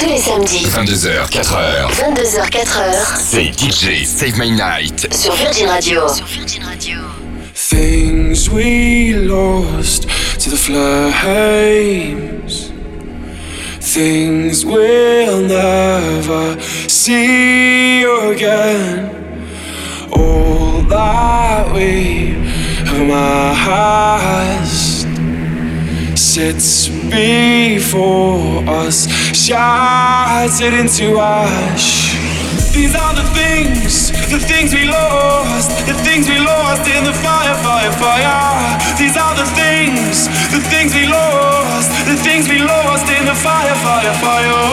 Tous les samedis. 22h, 4h. 22h, 4h. C'est DJ Save My Night. Sur Virgin Radio. Things we lost to the flames. Things we'll never see again. All that we have amassed sits before us, shattered into ash. These are the things we lost, the things we lost in the fire, fire, fire. These are the things we lost, the things we lost in the fire, fire, fire.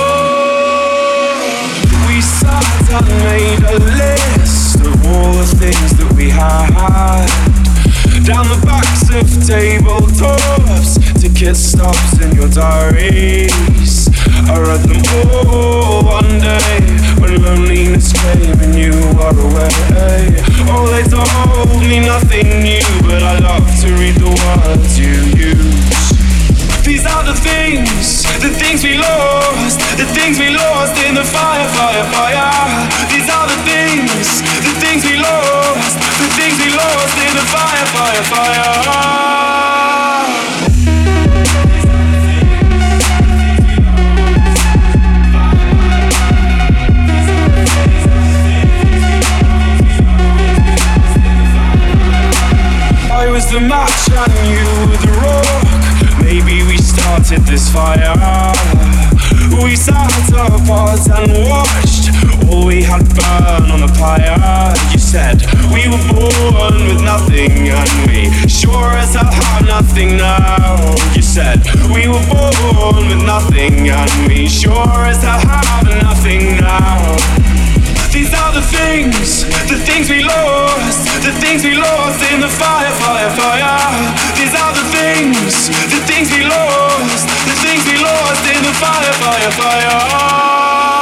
We sat and made a list of all the things that we had, down the backs of tabletops, ticket stops in your diaries. I read them all one day when loneliness came and you were away. Oh, they told me nothing new, but I love to read the words you use. These are the things we lost, the things we lost in the fire, fire, fire. These are the things we lost, the things we lost in the fire, fire, fire. I was the match and you the rock. Maybe we started this fire. We sat apart and watched all we had burn on the pyre. You said we were born with nothing and we sure as hell have nothing now. You said we were born with nothing and we sure as hell have nothing now. These are the things we lost, the things we lost in the fire, fire, fire. These are the things we lost, the things we lost in the fire, fire, fire.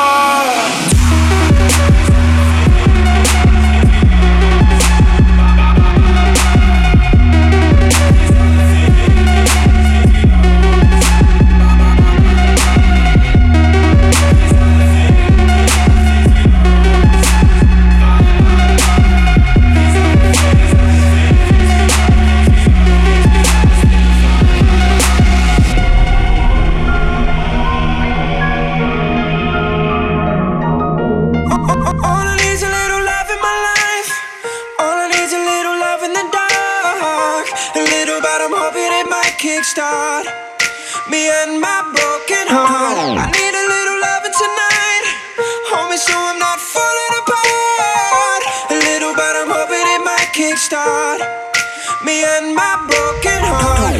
Kickstart me and my broken heart. I need a little loving tonight, homie, so I'm not falling apart. A little, but I'm hoping it might kickstart me and my broken heart.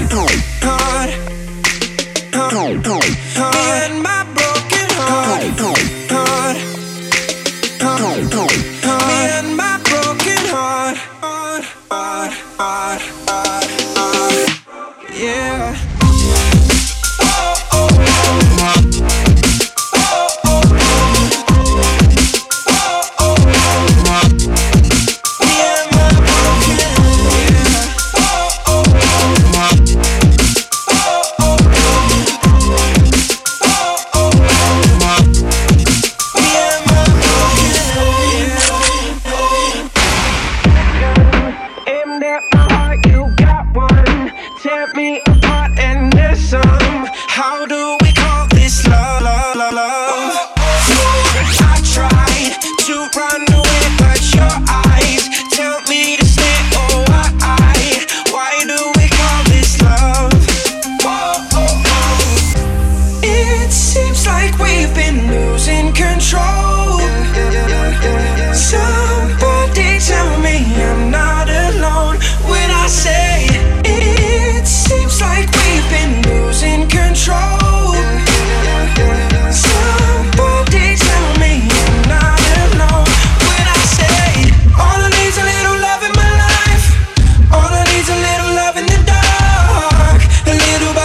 Me and my broken heart. Me and my broken heart. Yeah.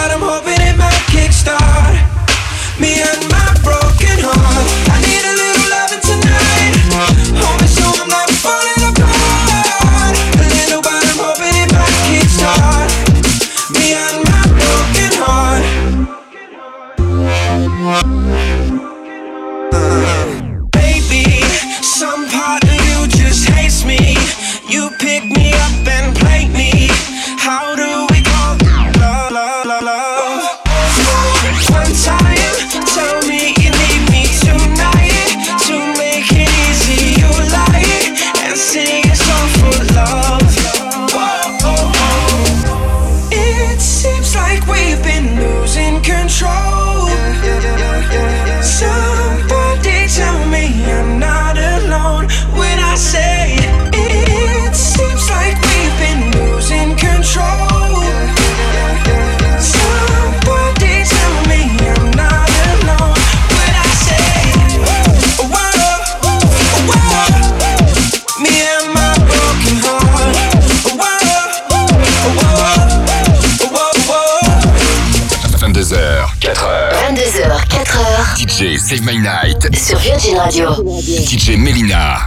Me and my broken heart. I need a little DJ Save My Night sur Virgin Radio. DJ Melyna.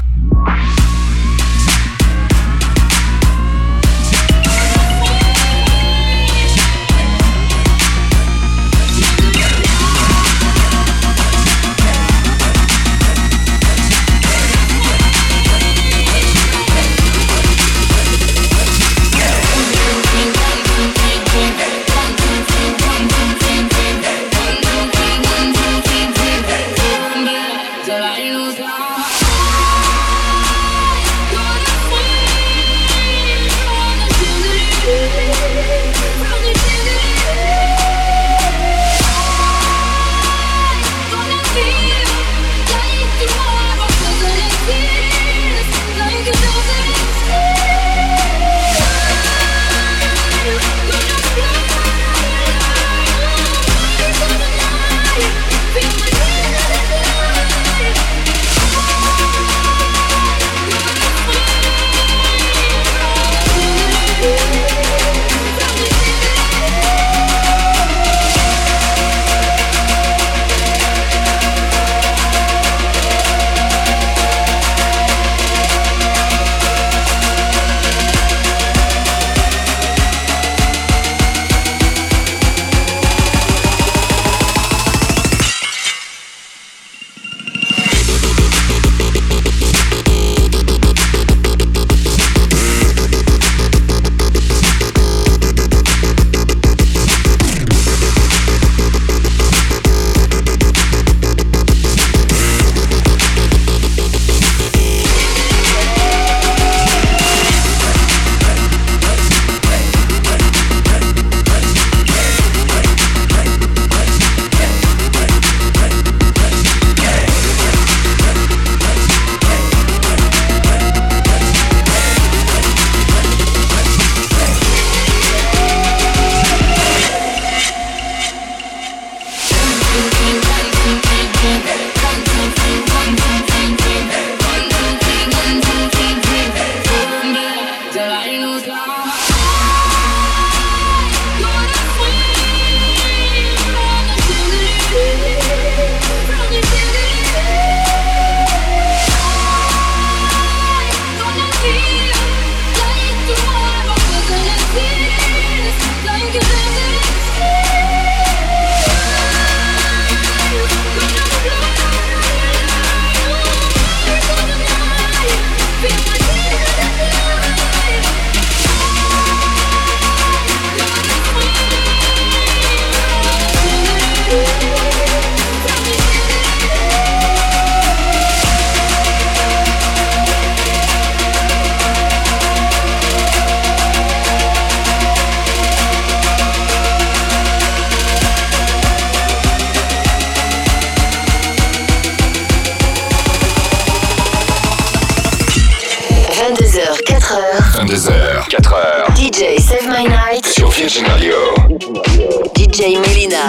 DJ Save My Night sur Virgin Radio. DJ Melyna.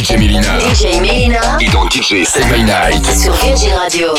DJ Melyna. DJ Melyna. Et dans DJ Save My Night. Sur Virgin Radio.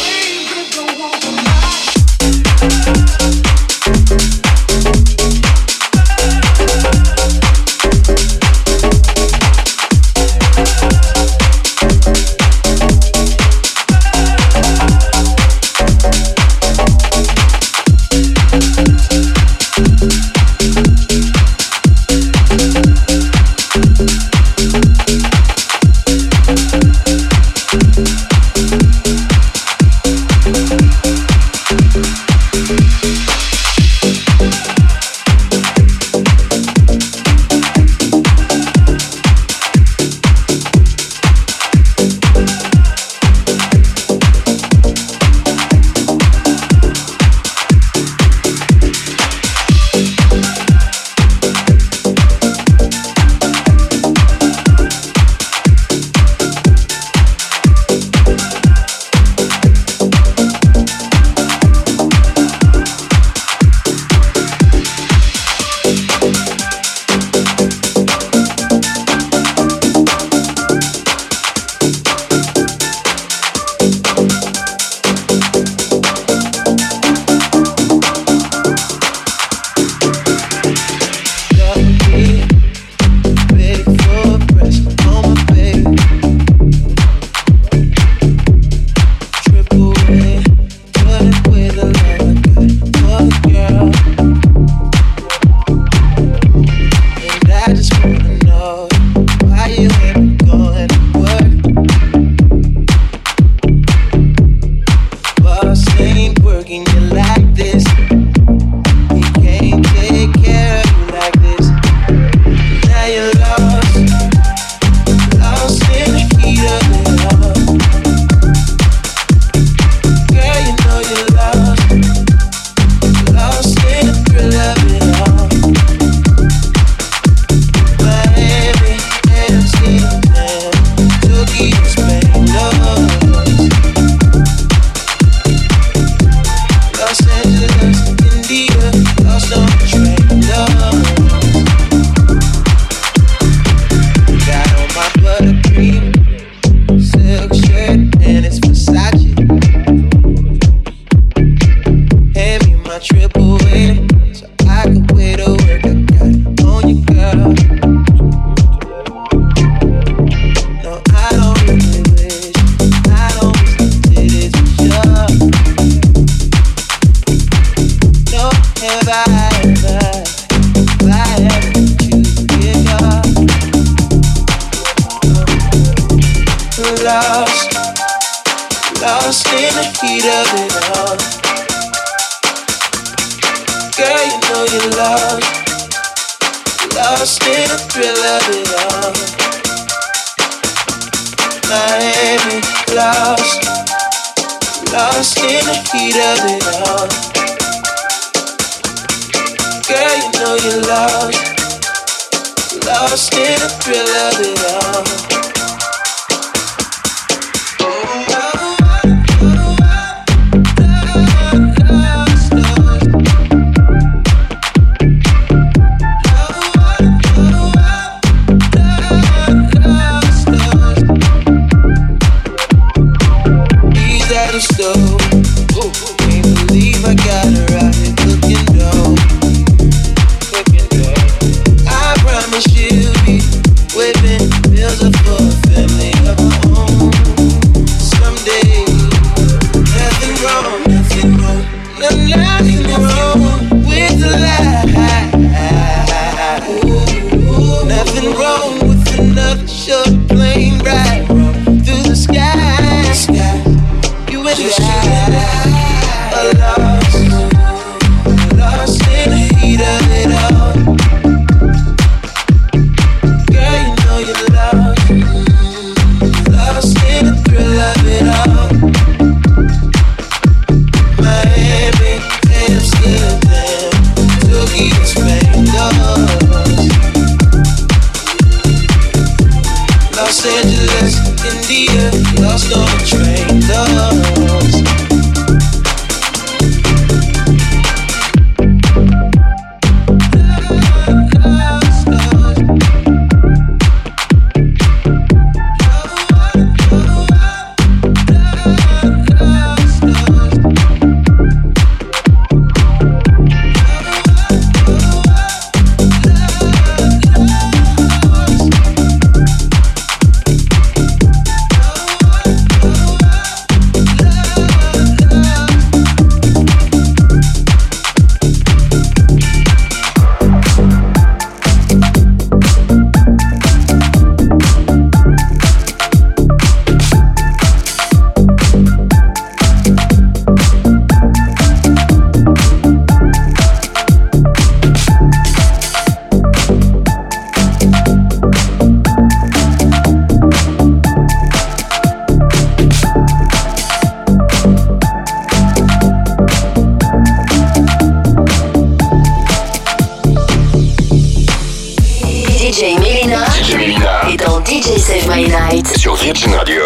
Save My Night sur Virgin Radio.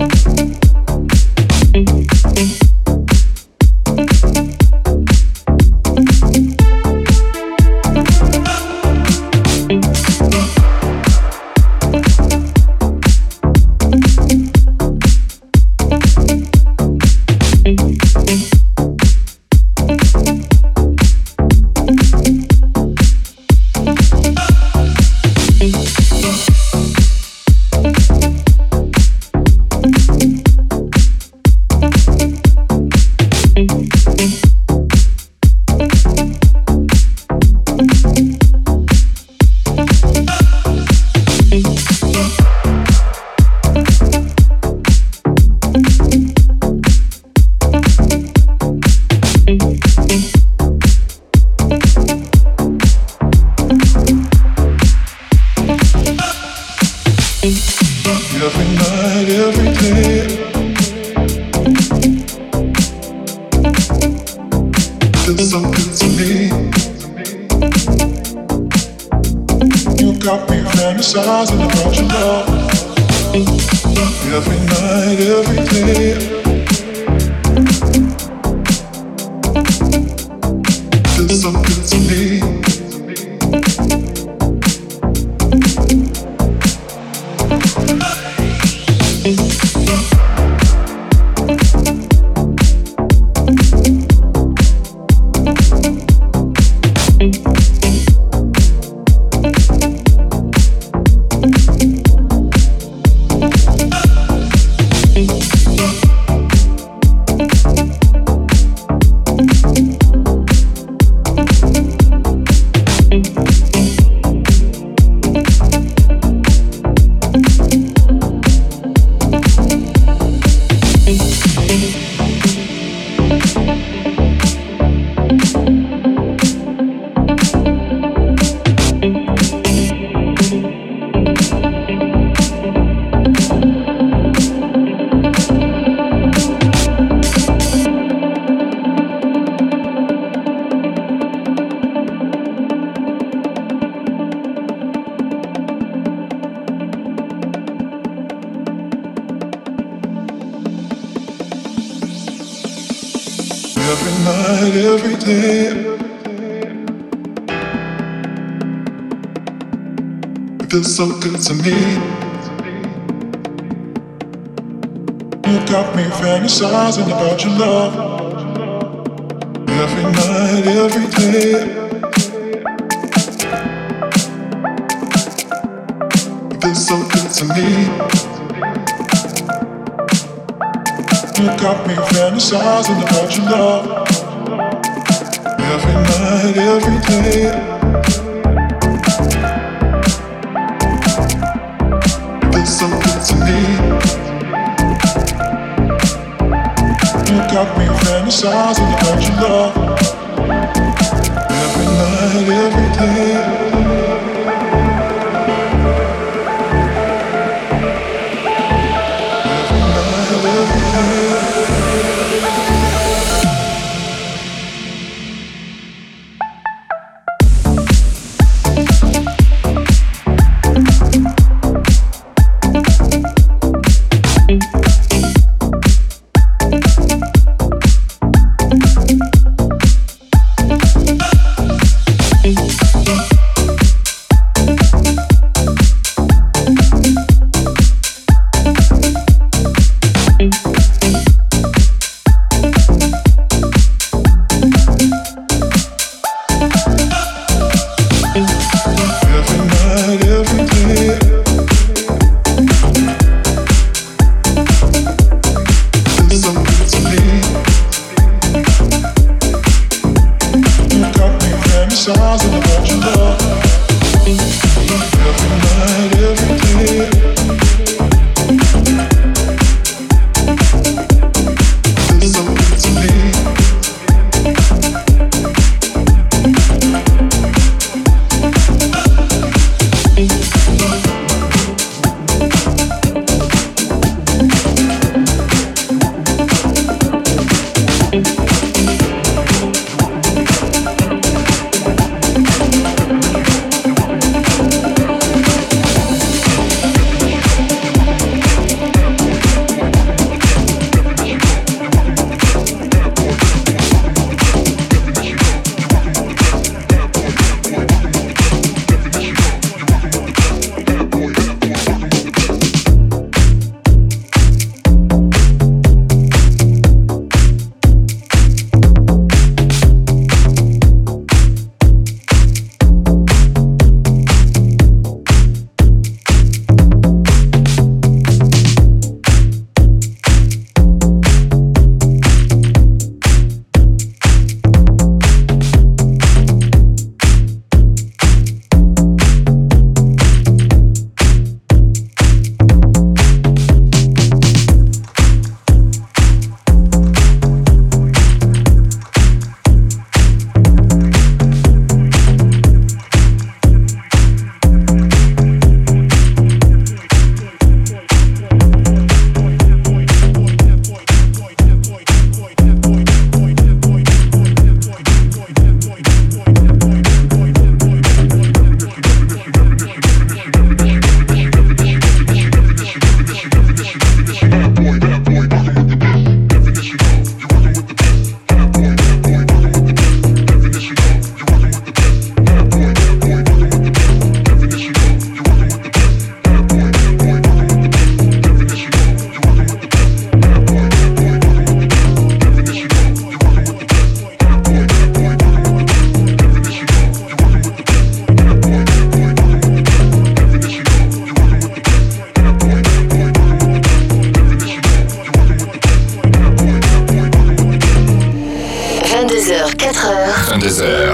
Every night, every day, it feels so good to me. You got me fantasizing about your love. Every night, every day, it feels so good to me. You got me fantasizing about your love. Every night, every day, it feels so good to me. You got me fantasizing about your love. Every night, every day.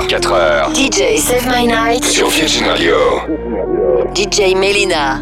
24 heures. DJ Save My Night sur Virgin Radio. DJ Melyna.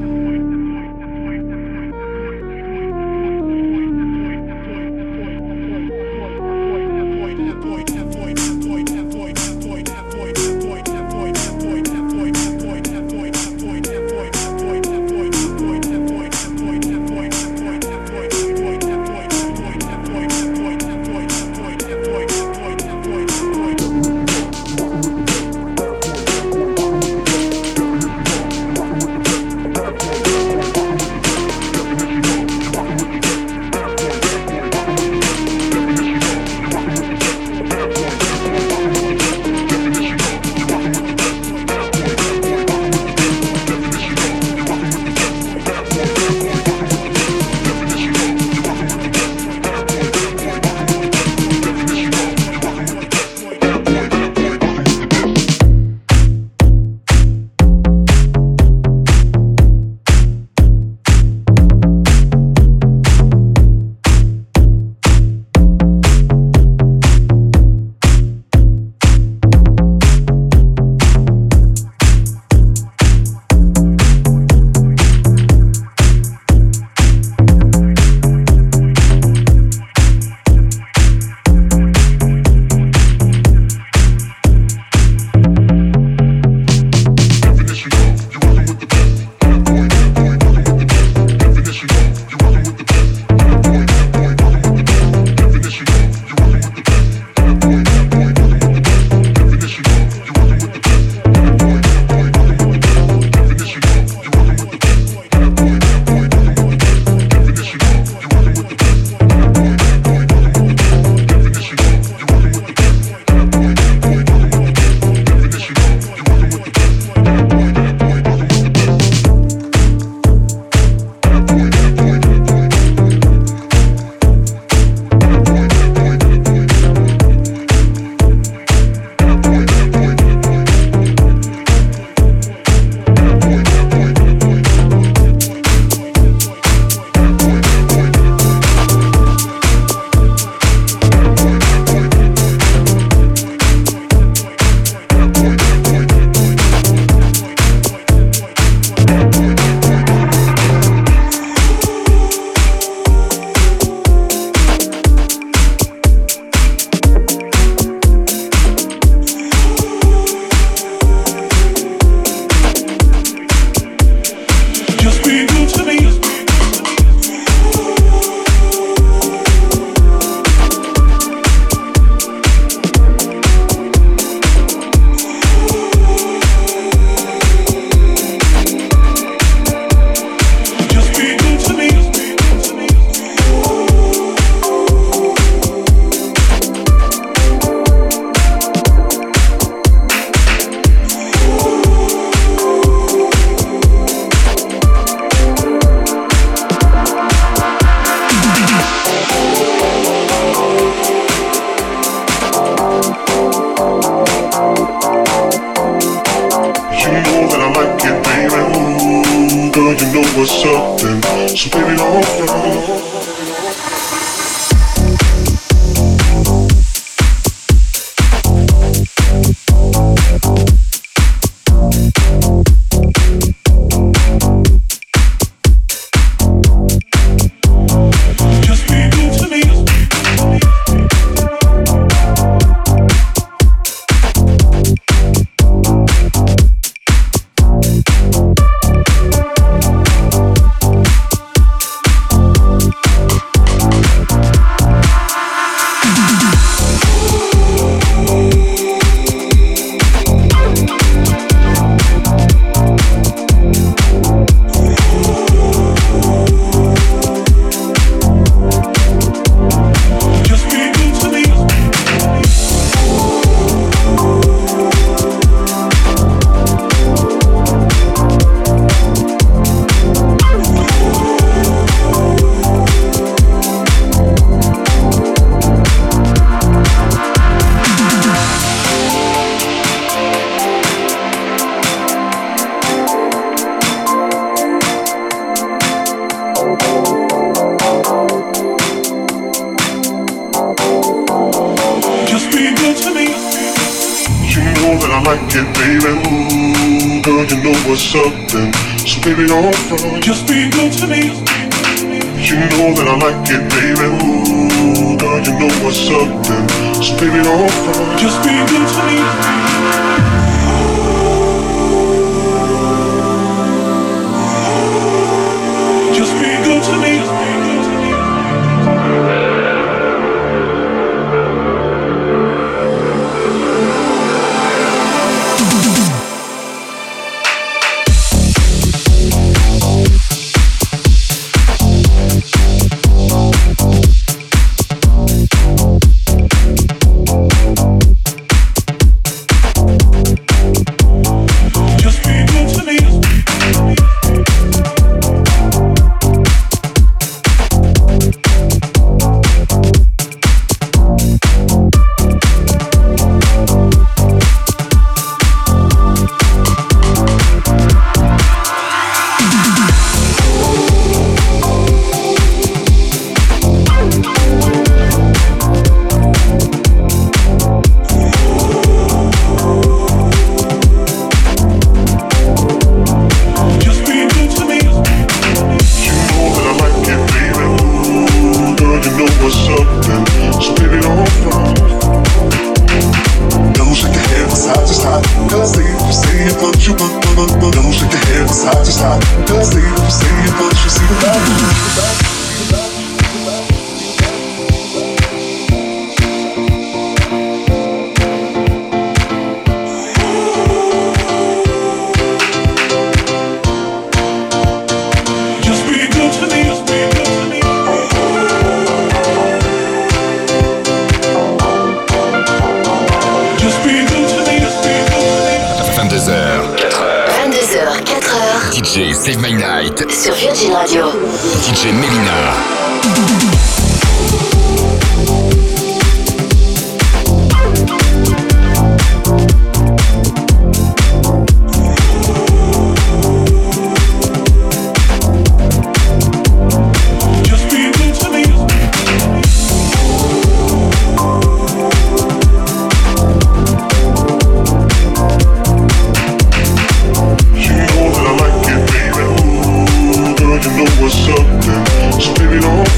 what's up then. So baby, don't front. like it, baby. Ooh, girl, you know what's up then. So baby, don't front. Just be good to me. You know that I like it, baby. Ooh, girl, you know what's up then. So baby, don't front. Just be good to me. Just be good to me. DJ Save My Night sur Virgin Radio. DJ Melyna. What's up then? So baby, don't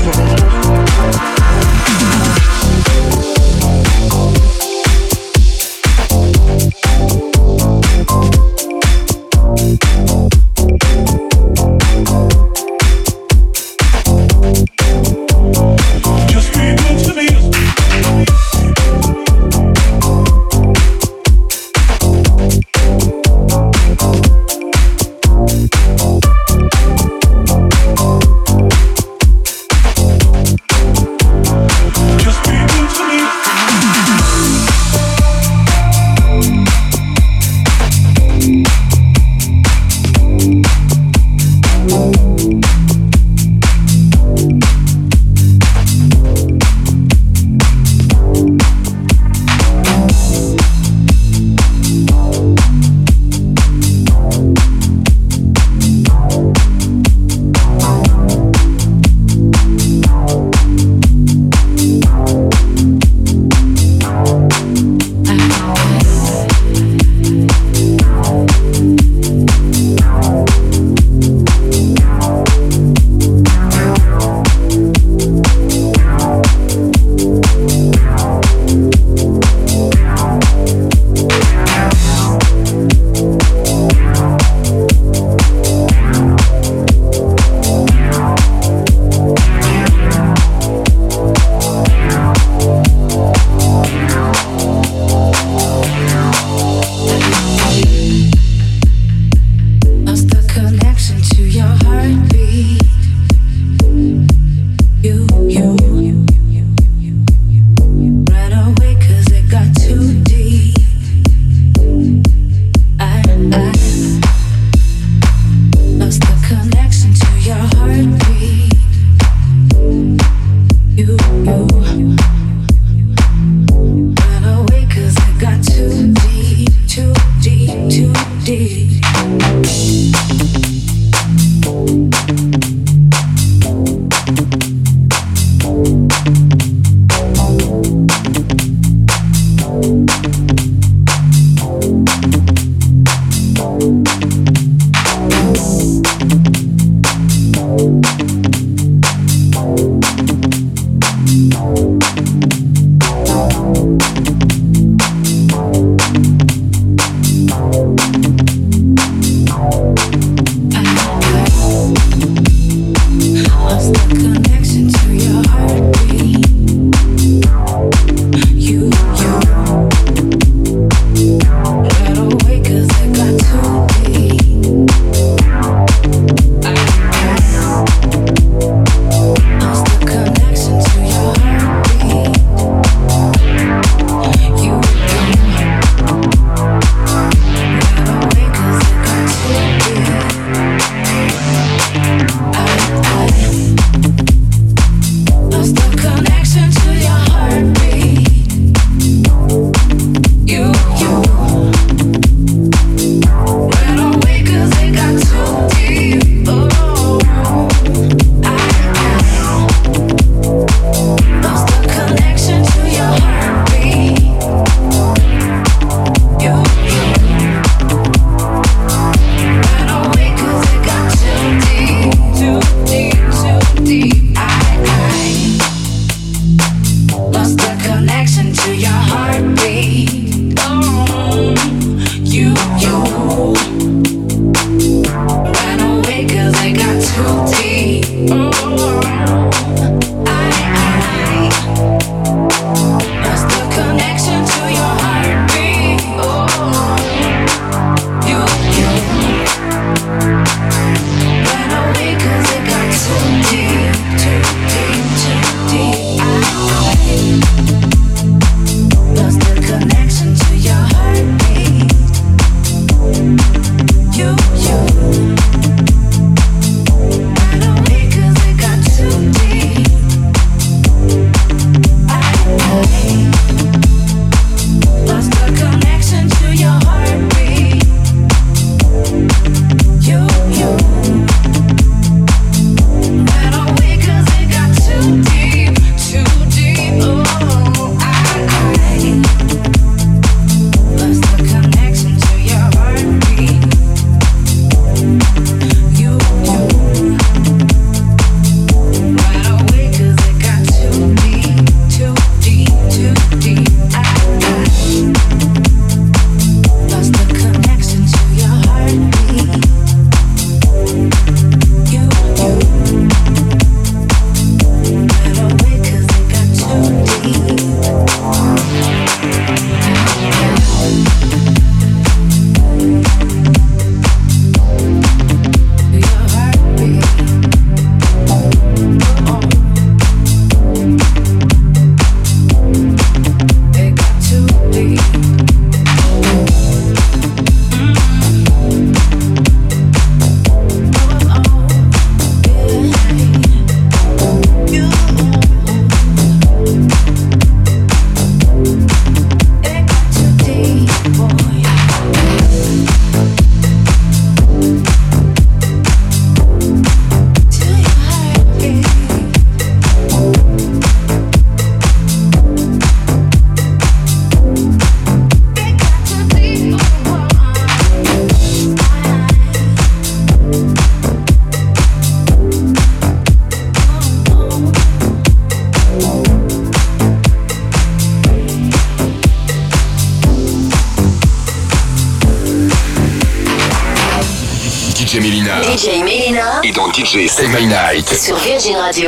DJ Melyna. DJ Melyna. Et dans DJ Save My Night. Sur Virgin Radio.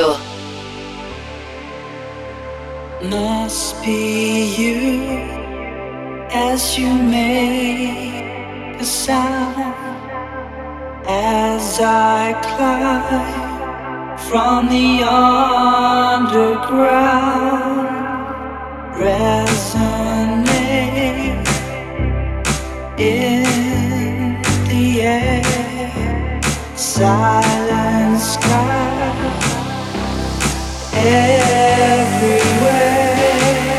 Must be you as you make a sound as I climb from the underground. Resonate in the air. Silent sky everywhere,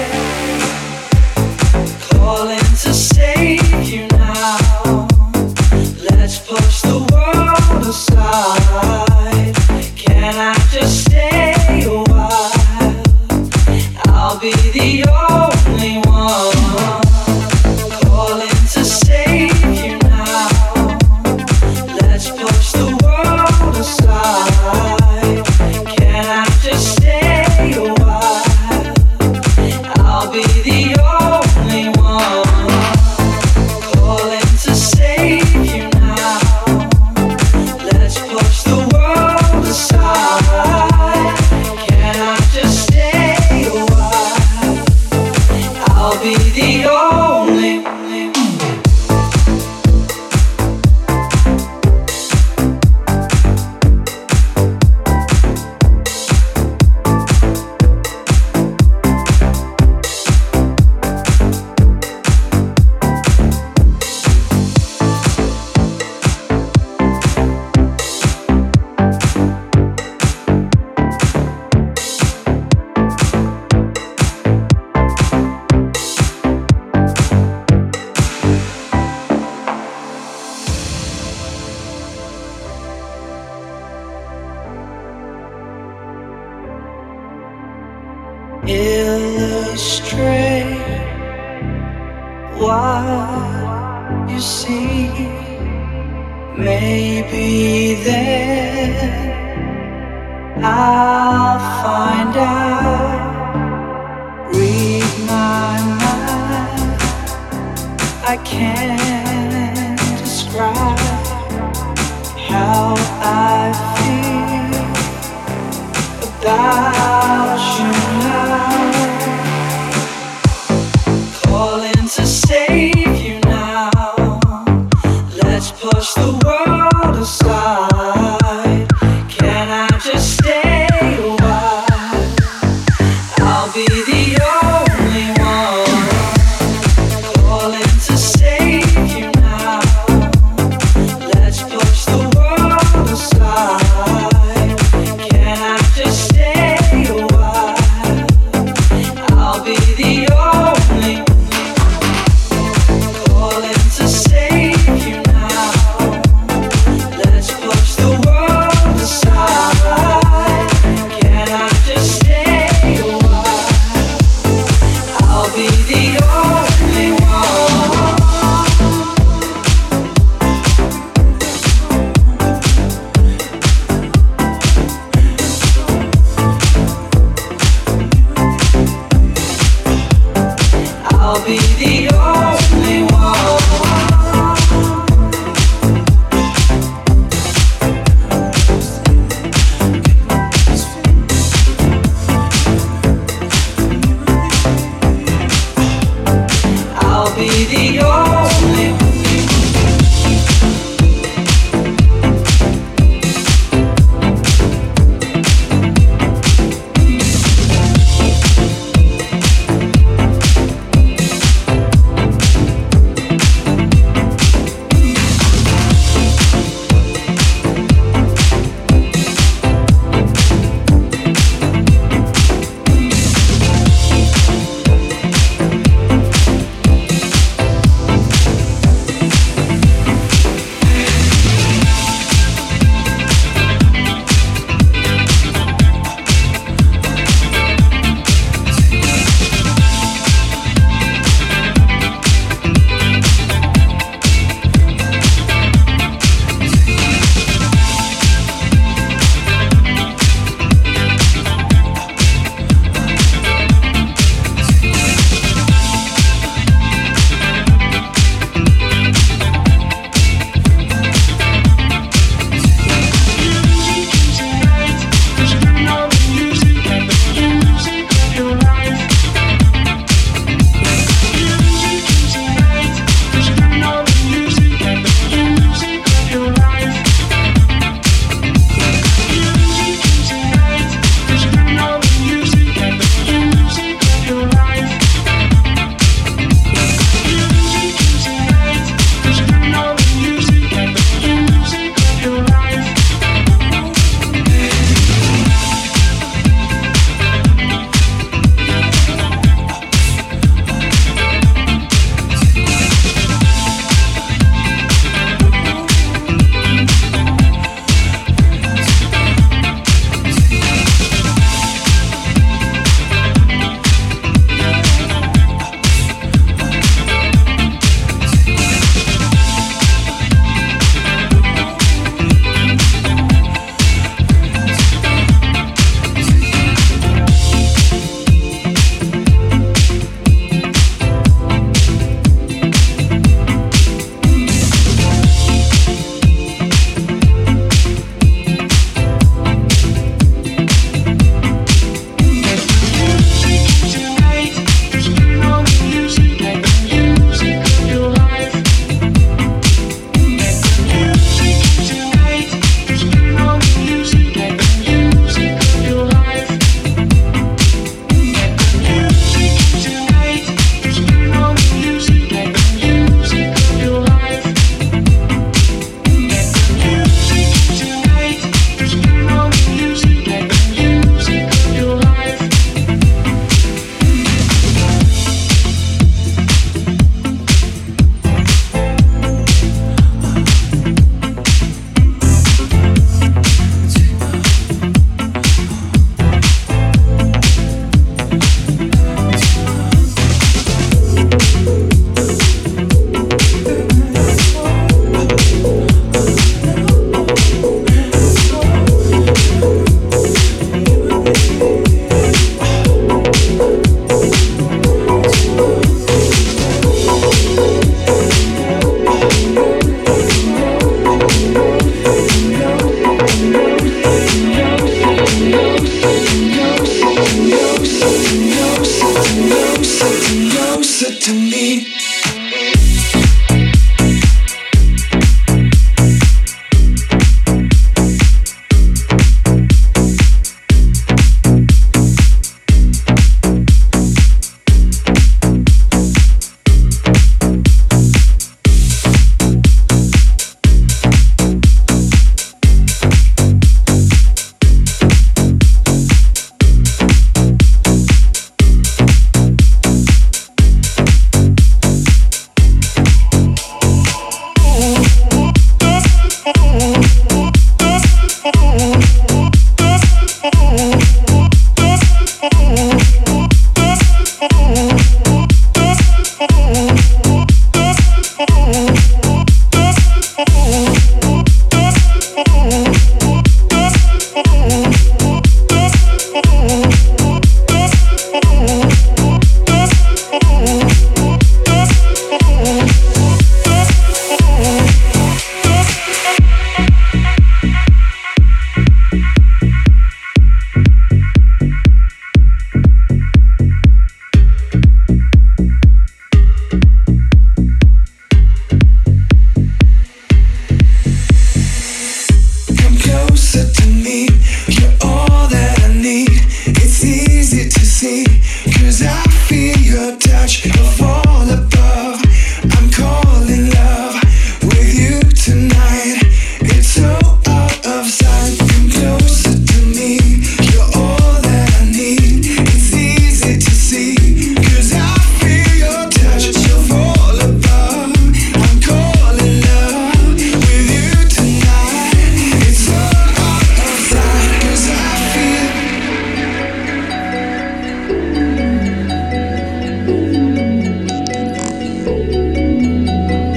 calling to save you now. Let's push the world aside. Can I just stay a while? I'll be the only one calling to save you now. Let's push the world aside. Can I just stay a illustrate what you see. Maybe then I'll find out. Read my mind. I can't describe how I feel about you now. Calling to save you now. Let's push the world aside. Can I just stay a while? I'll be the only one. Calling to save you now. Let's push the world aside. Can I just stay a while? closer to me.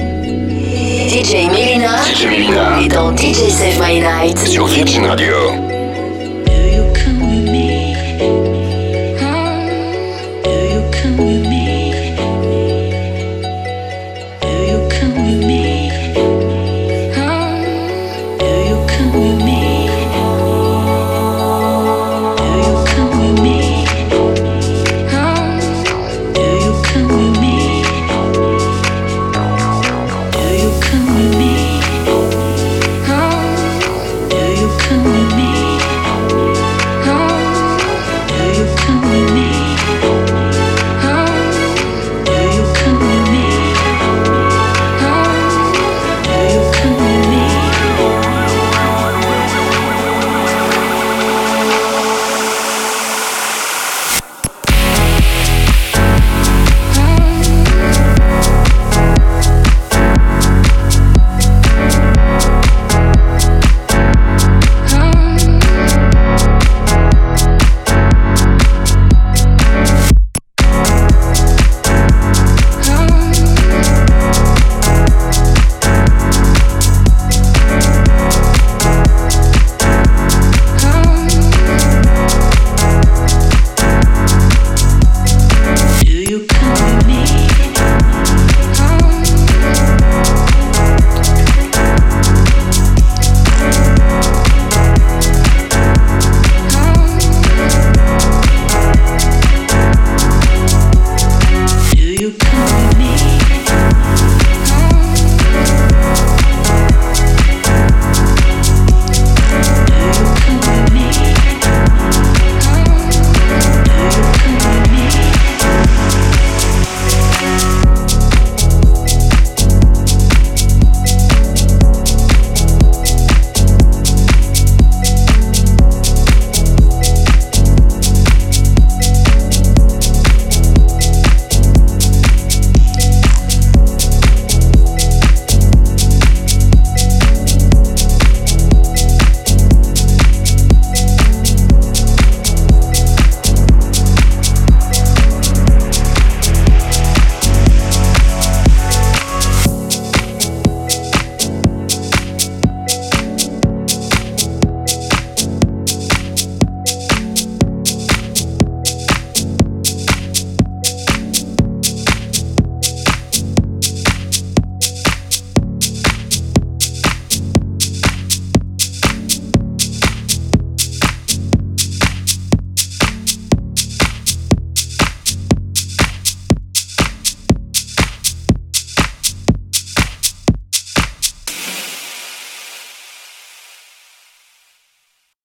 DJ Melyna est dans DJ Save My Night sur Virgin Radio.